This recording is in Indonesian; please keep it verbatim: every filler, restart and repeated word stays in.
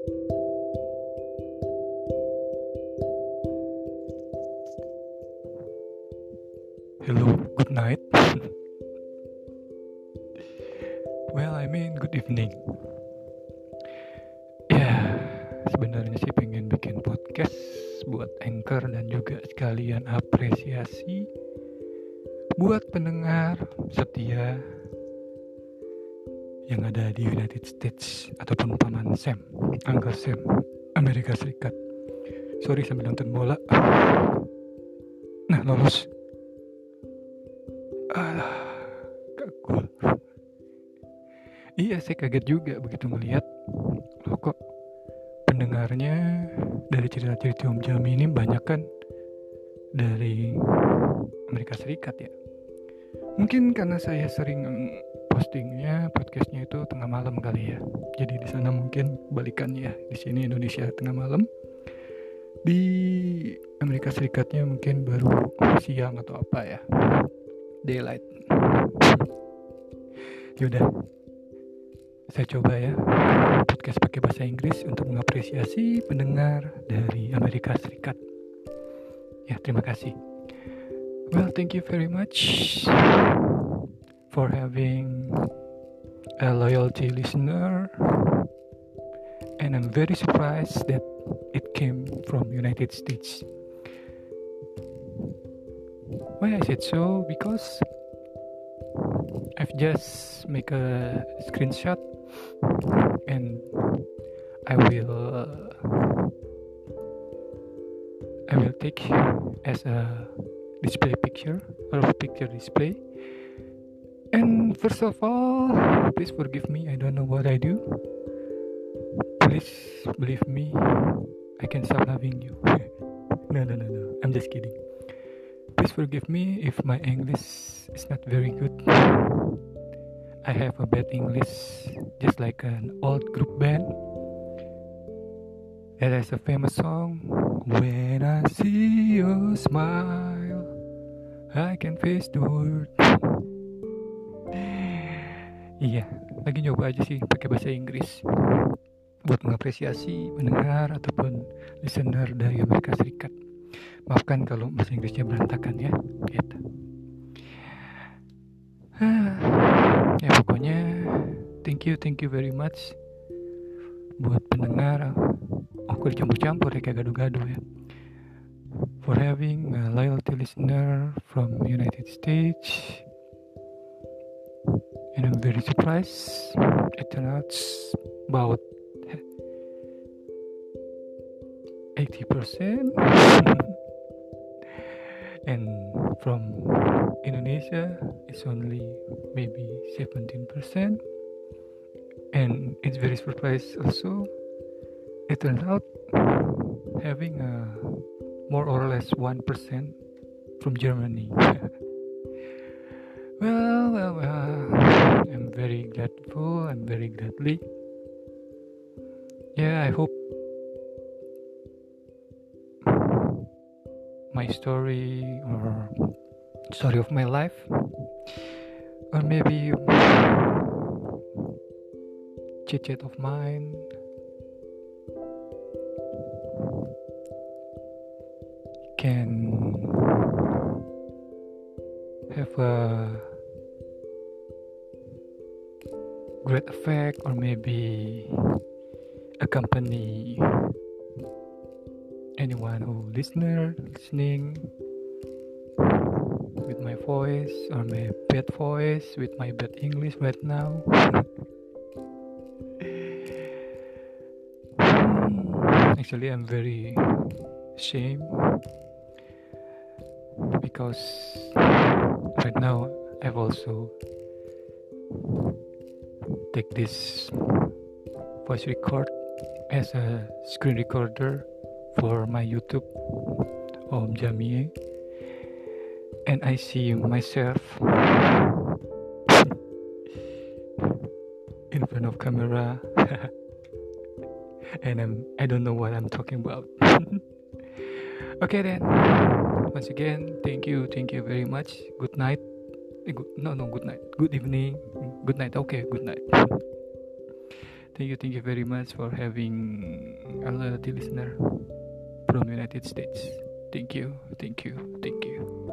Hello, good night. Well, I mean good evening. Ya, sebenarnya sih pengen bikin podcast buat Anchor dan juga sekalian apresiasi buat pendengar setia yang ada di United States ataupun paman Sam, Uncle Sam, Amerika Serikat. Sorry sambil nonton bola. Nah, lolos. Ah, kagul. Iya, saya kaget juga begitu melihat loh kok pendengarnya dari cerita-cerita Om Jami ini banyak kan dari Amerika Serikat ya. Mungkin karena saya sering postingnya podcastnya itu tengah malam kali ya. Jadi di sana mungkin balikannya, di sini Indonesia tengah malam, di Amerika Serikatnya mungkin baru siang atau apa ya, daylight. Yaudah, saya coba ya podcast pakai bahasa Inggris untuk mengapresiasi pendengar dari Amerika Serikat. Ya, terima kasih. Well, thank you very much for having a loyalty listener, and I'm very surprised that it came from United States. Why I said so? Because I've just make a screenshot and I will I will take as a display picture or picture display. And first of all, please forgive me, I don't know what I do. Please believe me, I can stop loving you. no no no no I'm just kidding. Please forgive me if my English is not very good. I have a bad English, just like an old group band that has a famous song. When I see you smile, I can face the world. Iya, lagi nyoba aja sih pakai bahasa Inggris buat mengapresiasi pendengar ataupun listener dari Amerika Serikat. Maafkan kalau bahasa Inggrisnya berantakan ya, gitu. Ya pokoknya thank you, thank you very much buat pendengar. Aku dicampur-campur ya, kayak gaduh-gaduh ya. For having a loyalty listener from United States. And I'm very surprised. It turns out about eighty percent. And from Indonesia it's only maybe seventeen percent. And it's very surprised also. It turns out having a more or less one percent from Germany. well, well, well, I'm very grateful, I'm very gladly. Yeah, I hope my story or story of my life, or maybe chit chat of mine, can have a great effect, or maybe accompany anyone who listener listening with my voice or my bad voice, with my bad English right now. Actually, I'm very ashamed because right now I've also take this voice record as a screen recorder for my YouTube Om Jami, and I see myself in front of camera and I'm I don't know what I'm talking about. Okay then, once again, thank you, thank you very much. Good night. Eh, good, no, no, good night. Good evening. Good night. Okay, good night. thank you, thank you very much for having a loyalty listener from United States. Thank you, thank you, thank you.